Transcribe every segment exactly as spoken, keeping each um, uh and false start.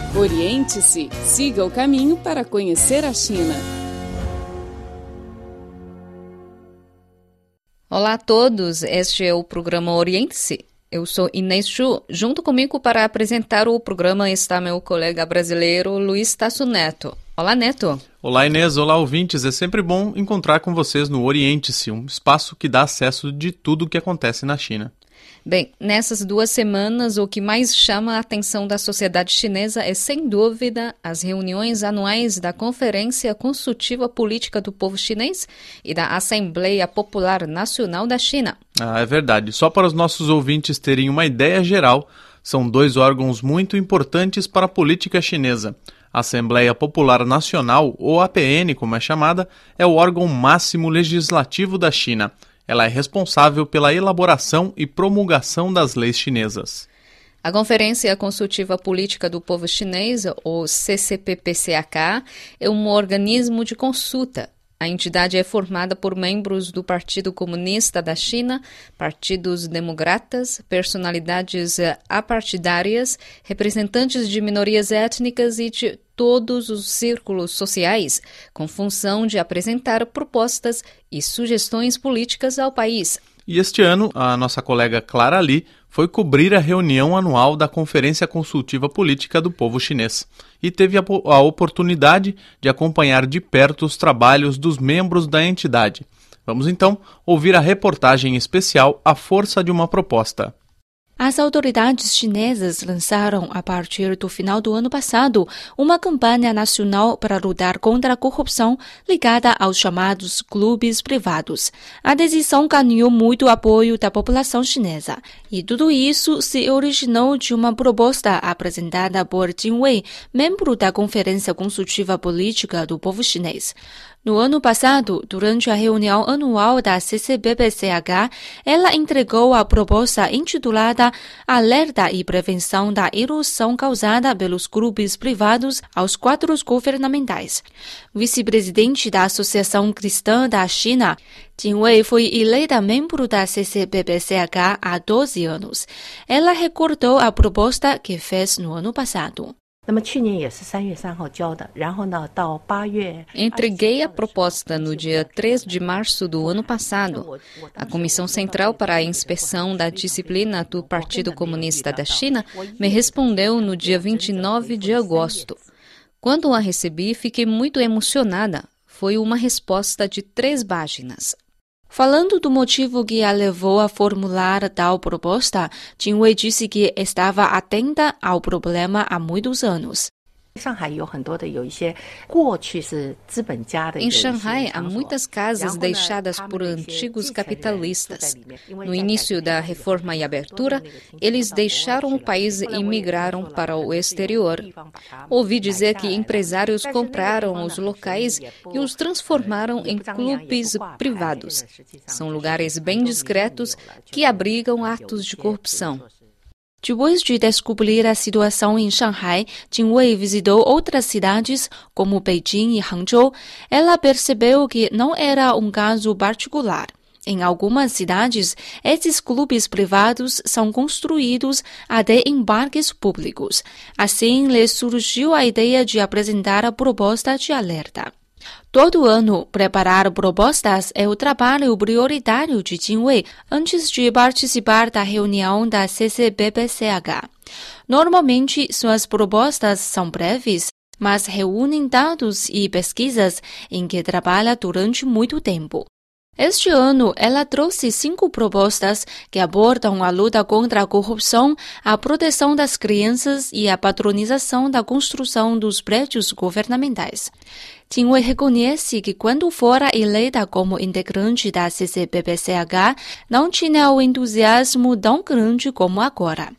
Oriente-se, siga o caminho para conhecer a China. Olá a todos, este é o programa Oriente-se. Eu sou Inês Chu. Junto comigo para apresentar o programa está meu colega brasileiro Luiz Tasso Neto. Olá, Neto. Olá, Inês. Olá, ouvintes. É sempre bom encontrar com vocês no Oriente-se, um espaço que dá acesso de tudo o que acontece na China. Bem, nessas duas semanas, o que mais chama a atenção da sociedade chinesa é, sem dúvida, as reuniões anuais da Conferência Consultiva Política do Povo Chinês e da Assembleia Popular Nacional da China. Ah, é verdade. Só para os nossos ouvintes terem uma ideia geral, são dois órgãos muito importantes para a política chinesa. A Assembleia Popular Nacional, ou A P N, como é chamada, é o órgão máximo legislativo da China. Ela é responsável pela elaboração e promulgação das leis chinesas. A Conferência Consultiva Política do Povo Chinês, ou C C P P C H, é um organismo de consulta. A entidade é formada por membros do Partido Comunista da China, partidos democratas, personalidades apartidárias, representantes de minorias étnicas e de todos os círculos sociais, com função de apresentar propostas e sugestões políticas ao país. E este ano, a nossa colega Clara Li foi cobrir a reunião anual da Conferência Consultiva Política do Povo Chinês e teve a, a oportunidade de acompanhar de perto os trabalhos dos membros da entidade. Vamos então ouvir a reportagem especial A Força de uma Proposta. As autoridades chinesas lançaram, a partir do final do ano passado, uma campanha nacional para lutar contra a corrupção ligada aos chamados clubes privados. A decisão ganhou muito apoio da população chinesa. E tudo isso se originou de uma proposta apresentada por Jin Wei, membro da Conferência Consultiva Política do Povo Chinês. No ano passado, durante a reunião anual da C C P P C H, ela entregou a proposta intitulada Alerta e Prevenção da Erosão Causada pelos Clubes Privados aos quadros governamentais. Vice-presidente da Associação Cristã da China, Jin Wei foi eleita membro da C C P P C H há doze anos. Ela recordou a proposta que fez no ano passado. Entreguei a proposta no dia três de março do ano passado. A Comissão Central para a Inspeção da Disciplina do Partido Comunista da China me respondeu no dia vinte e nove de agosto. Quando a recebi, fiquei muito emocionada. Foi uma resposta de três páginas. Falando do motivo que a levou a formular tal proposta, Jin Wei disse que estava atenta ao problema há muitos anos. Em Xangai, há muitas casas deixadas por antigos capitalistas. No início da reforma e abertura, eles deixaram o país e migraram para o exterior. Ouvi dizer que empresários compraram os locais e os transformaram em clubes privados. São lugares bem discretos que abrigam atos de corrupção. Depois de descobrir a situação em Xangai, Jin Wei visitou outras cidades, como Beijing e Hangzhou. Ela percebeu que não era um caso particular. Em algumas cidades, esses clubes privados são construídos até em parques públicos. Assim, lhe surgiu a ideia de apresentar a proposta de alerta. Todo ano, preparar propostas é o trabalho prioritário de Jin Wei antes de participar da reunião da C C P P C H. Normalmente, suas propostas são breves, mas reúnem dados e pesquisas em que trabalha durante muito tempo. Este ano, ela trouxe cinco propostas que abordam a luta contra a corrupção, a proteção das crianças e a patronização da construção dos prédios governamentais. Jin Wei reconhece que quando fora eleita como integrante da C C P P C H, não tinha o entusiasmo tão grande como agora.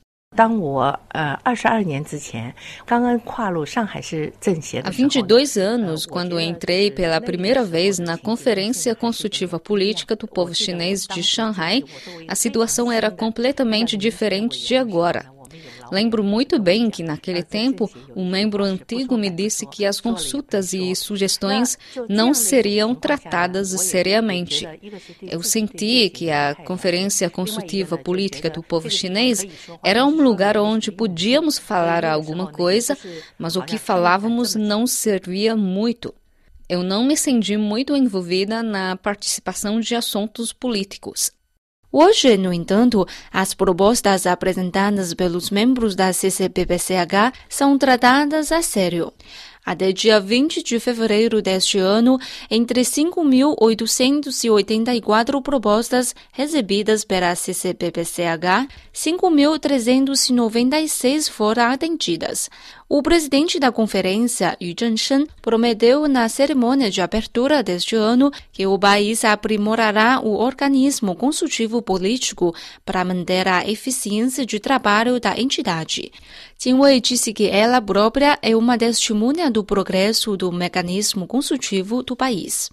Há vinte e dois anos, quando entrei pela primeira vez na Conferência Consultiva Política do Povo Chinês de Xangai, a situação era completamente diferente de agora. Lembro muito bem que, naquele tempo, um membro antigo me disse que as consultas e sugestões não seriam tratadas seriamente. Eu senti que a Conferência Consultiva Política do Povo Chinês era um lugar onde podíamos falar alguma coisa, mas o que falávamos não servia muito. Eu não me senti muito envolvida na participação de assuntos políticos. Hoje, no entanto, as propostas apresentadas pelos membros da C C P P C H são tratadas a sério. Até dia vinte de fevereiro deste ano, entre cinco mil oitocentas e oitenta e quatro propostas recebidas pela C C P P C H, cinco mil trezentas e noventa e seis foram atendidas. O presidente da conferência, Yu Zhenshen, prometeu na cerimônia de abertura deste ano que o país aprimorará o organismo consultivo político para manter a eficiência de trabalho da entidade. Jin Wei disse que ela própria é uma testemunha do progresso do mecanismo consultivo do país.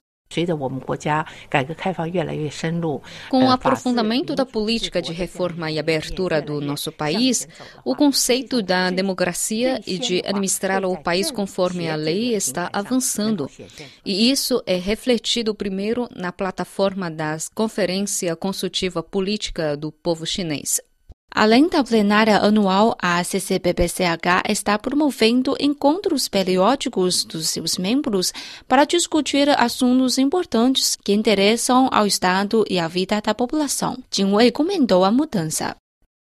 Com o aprofundamento da política de reforma e abertura do nosso país, o conceito da democracia e de administrar o país conforme a lei está avançando. E isso é refletido primeiro na plataforma da Conferência Consultiva Política do Povo Chinês. Além da plenária anual, a C C P P C H está promovendo encontros periódicos dos seus membros para discutir assuntos importantes que interessam ao Estado e à vida da população. Jin Wei comentou a mudança.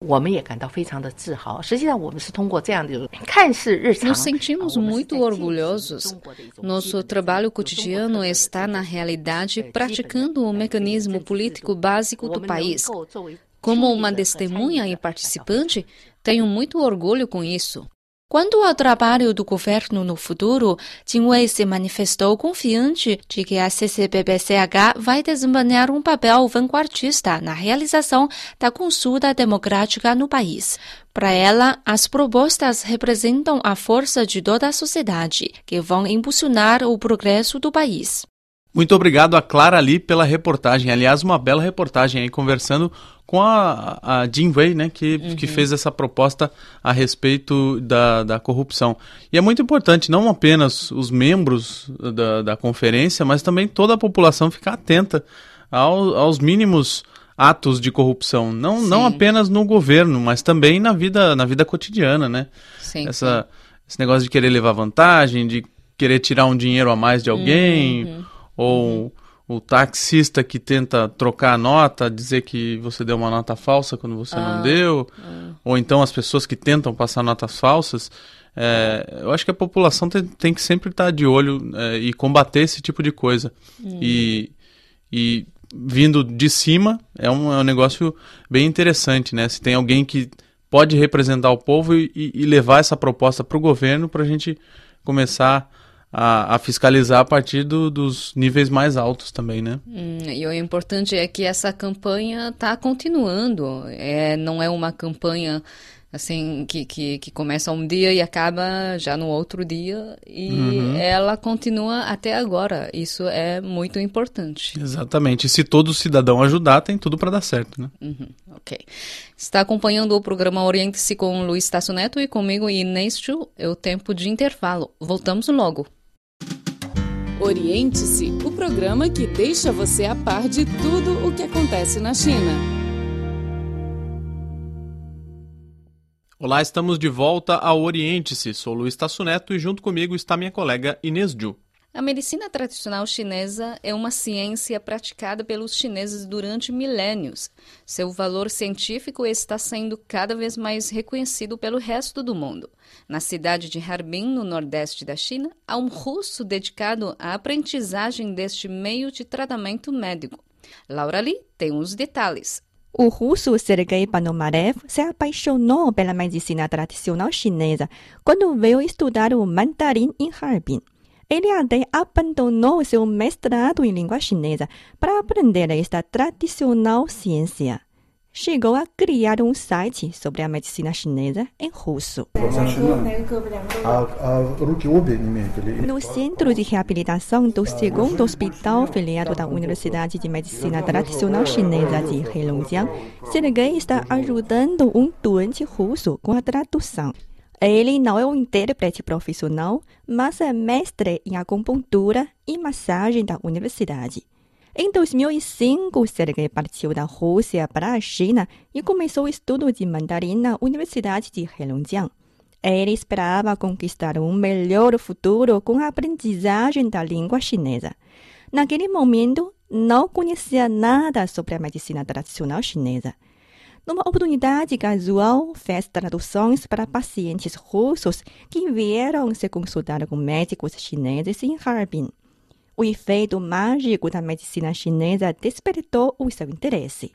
Nos sentimos muito orgulhosos. Nosso trabalho cotidiano está, na realidade, praticando o mecanismo político básico do país. Como uma testemunha e participante, tenho muito orgulho com isso. Quanto ao trabalho do governo no futuro, Jin Wei se manifestou confiante de que a C C P P C H vai desempenhar um papel vanguardista na realização da consulta democrática no país. Para ela, as propostas representam a força de toda a sociedade, que vão impulsionar o progresso do país. Muito obrigado a Clara Li pela reportagem. Aliás, uma bela reportagem aí, conversando com a, a Jin Wei, né, que, uhum. que fez essa proposta a respeito da, da corrupção. E é muito importante, não apenas os membros da, da conferência, mas também toda a população ficar atenta ao, aos mínimos atos de corrupção. Não, não apenas no governo, mas também na vida, na vida cotidiana, né? Sim, essa, sim. Esse negócio de querer levar vantagem, de querer tirar um dinheiro a mais de alguém... Uhum. Ou uhum. o taxista que tenta trocar a nota, dizer que você deu uma nota falsa quando você ah, não deu, ah. ou então as pessoas que tentam passar notas falsas. É, eu acho que a população tem, tem que sempre estar de olho é, e combater esse tipo de coisa. Uhum. E, e vindo de cima é um, é um negócio bem interessante, né? Se tem alguém que pode representar o povo e, e levar essa proposta para o governo para a gente começar A, a fiscalizar a partir do, dos níveis mais altos também, né? Hum, e o importante é que essa campanha está continuando. É, não é uma campanha assim que, que, que começa um dia e acaba já no outro dia. E uhum. ela continua até agora. Isso é muito importante. Exatamente. E se todo cidadão ajudar, tem tudo para dar certo, né? Uhum. Ok. Está acompanhando o programa Oriente-se com Luiz Tasso Neto e comigo Inês Chu. É o tempo de intervalo. Voltamos logo. Oriente-se, o programa que deixa você a par de tudo o que acontece na China. Olá, estamos de volta ao Oriente-se. Sou Luiz Tasso Neto e junto comigo está minha colega Inês Ju. A medicina tradicional chinesa é uma ciência praticada pelos chineses durante milênios. Seu valor científico está sendo cada vez mais reconhecido pelo resto do mundo. Na cidade de Harbin, no nordeste da China, há um russo dedicado à aprendizagem deste meio de tratamento médico. Laura Li tem os detalhes. O russo Sergei Ponomarev se apaixonou pela medicina tradicional chinesa quando veio estudar o mandarim em Harbin. Ele até abandonou seu mestrado em língua chinesa para aprender esta tradicional ciência. chegou a criar um site sobre a medicina chinesa em russo. No Centro de Reabilitação do segundo Hospital Filiado da Universidade de Medicina Tradicional Chinesa de Heilongjiang, Sergei está ajudando um doente russo com a tradução. Ele não é um intérprete profissional, mas é mestre em acupuntura e massagem da universidade. Em dois mil e cinco, Sergei partiu da Rússia para a China e começou o estudo de mandarim na Universidade de Heilongjiang. Ele esperava conquistar um melhor futuro com a aprendizagem da língua chinesa. Naquele momento, não conhecia nada sobre a medicina tradicional chinesa. Numa oportunidade casual, fez traduções para pacientes russos que vieram se consultar com médicos chineses em Harbin. O efeito mágico da medicina chinesa despertou o seu interesse.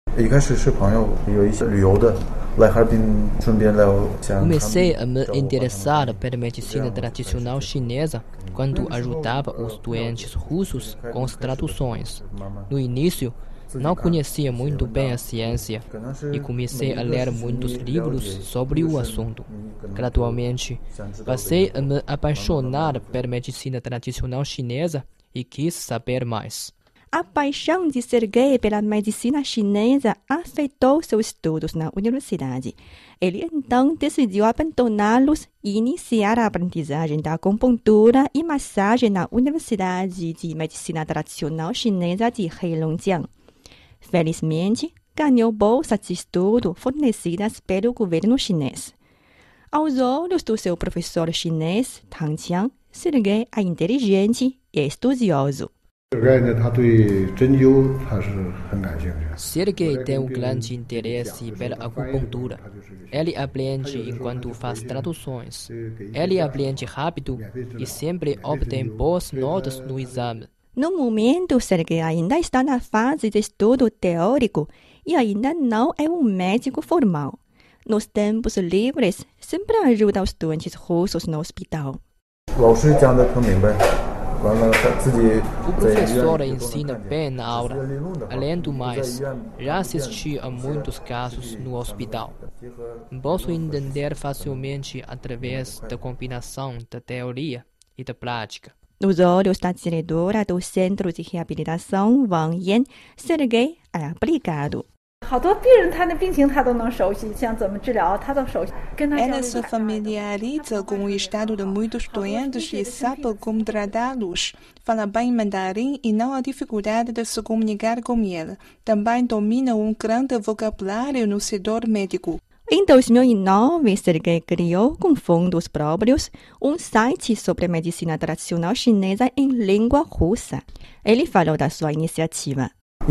Comecei a me interessar pela medicina tradicional chinesa quando ajudava os doentes russos com as traduções. No início, não conhecia muito bem a ciência e comecei a ler muitos livros sobre o assunto. Gradualmente, passei a me apaixonar pela medicina tradicional chinesa e quis saber mais. A paixão de Sergei pela medicina chinesa afetou seus estudos na universidade. Ele então decidiu abandoná-los e iniciar a aprendizagem da acupuntura e massagem na Universidade de Medicina Tradicional Chinesa de Heilongjiang. Felizmente, ganhou bolsas de estudo fornecidas pelo governo chinês. Aos olhos do seu professor chinês, Tang Qiang, Sergei é inteligente e estudioso. Sergei tem um grande interesse pela acupuntura. Ele aprende enquanto faz traduções. Ele aprende rápido e sempre obtém boas notas no exame. No momento, Sergei ainda está na fase de estudo teórico e ainda não é um médico formal. Nos tempos livres, sempre ajuda os doentes russos no hospital. O professor ensina bem na aula. Além do mais, já assisti a muitos casos no hospital. Posso entender facilmente através da combinação da teoria e da prática. Nos olhos da diretora do Centro de Reabilitação, Wang Yan, Sergei é aplicado. Ela se familiariza com o estado de muitos doentes e sabe como tratá-los. Fala bem mandarim e não há dificuldade de se comunicar com ele. Também domina um grande vocabulário no setor médico. Em dois mil e nove, Sergei criou, com fundos próprios, um site sobre a medicina tradicional chinesa em língua russa. Ele falou da sua iniciativa.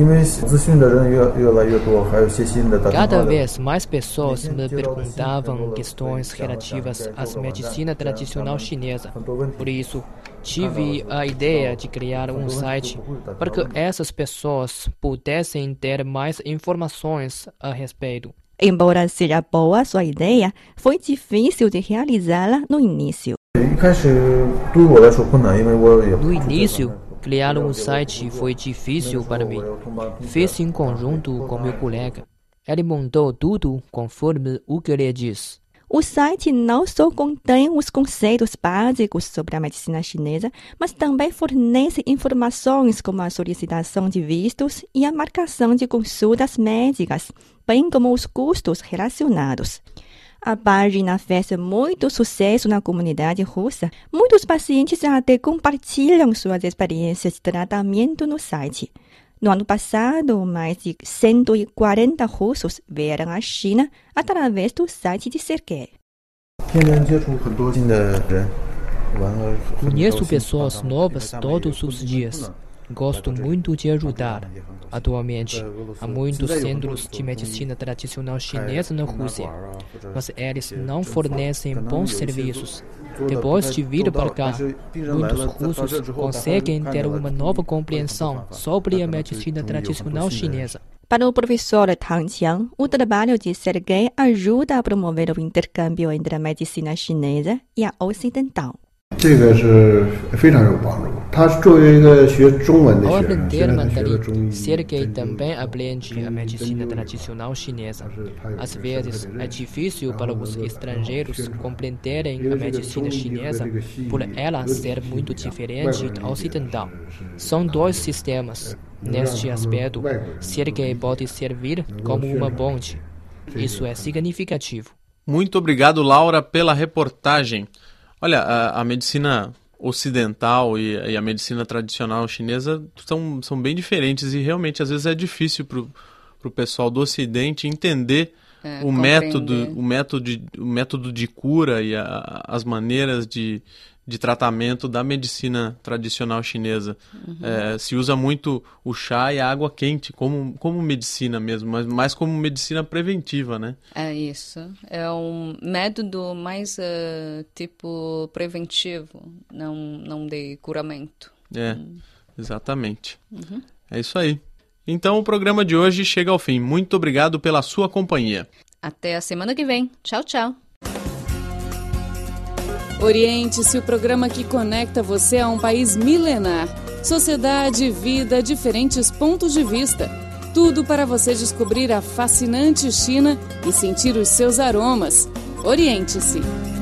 Cada vez mais pessoas me perguntavam questões relativas à medicina tradicional chinesa. Por isso, tive a ideia de criar um site para que essas pessoas pudessem ter mais informações a respeito. Embora seja boa sua ideia, foi difícil de realizá-la no início. No início, criar um site foi difícil para mim. Fiz em conjunto com meu colega. Ele montou tudo conforme o que ele diz. O site não só contém os conceitos básicos sobre a medicina chinesa, mas também fornece informações como a solicitação de vistos e a marcação de consultas médicas, bem como os custos relacionados. A página fez muito sucesso na comunidade russa. Muitos pacientes até compartilham suas experiências de tratamento no site. No ano passado, mais de cento e quarenta russos vieram à China através do site de Sergei. Conheço pessoas novas todos os dias. Gosto muito de ajudar. Atualmente, há muitos centros de medicina tradicional chinesa na Rússia, mas eles não fornecem bons serviços. Depois de vir para cá, muitos russos conseguem ter uma nova compreensão sobre a medicina tradicional chinesa. Para o professor Tang Qiang, o trabalho de Sergei ajuda a promover o intercâmbio entre a medicina chinesa e a ocidental. Ao aprender mandarim, Sergei também aprende a medicina tradicional chinesa. Às vezes, é difícil para os estrangeiros compreenderem a medicina chinesa por ela ser muito diferente da ocidental. São dois sistemas. Neste aspecto, Sergei pode servir como uma ponte. Isso é significativo. Muito obrigado, Laura, pela reportagem. Olha, a, a medicina ocidental e, e a medicina tradicional chinesa são, são bem diferentes e realmente às vezes é difícil para o pessoal do Ocidente entender é, o, método, o, método, o método de cura e a, as maneiras de, de tratamento da medicina tradicional chinesa. Uhum. É, se usa muito o chá e a água quente como, como medicina mesmo, mas mais como medicina preventiva, né? É isso. É um método mais uh, tipo preventivo, não, não de curamento. É, hum. exatamente. Uhum. É isso aí. Então o programa de hoje chega ao fim. Muito obrigado pela sua companhia. Até a semana que vem. Tchau, tchau. Oriente-se, o programa que conecta você a um país milenar. Sociedade, vida, diferentes pontos de vista. Tudo para você descobrir a fascinante China e sentir os seus aromas. Oriente-se.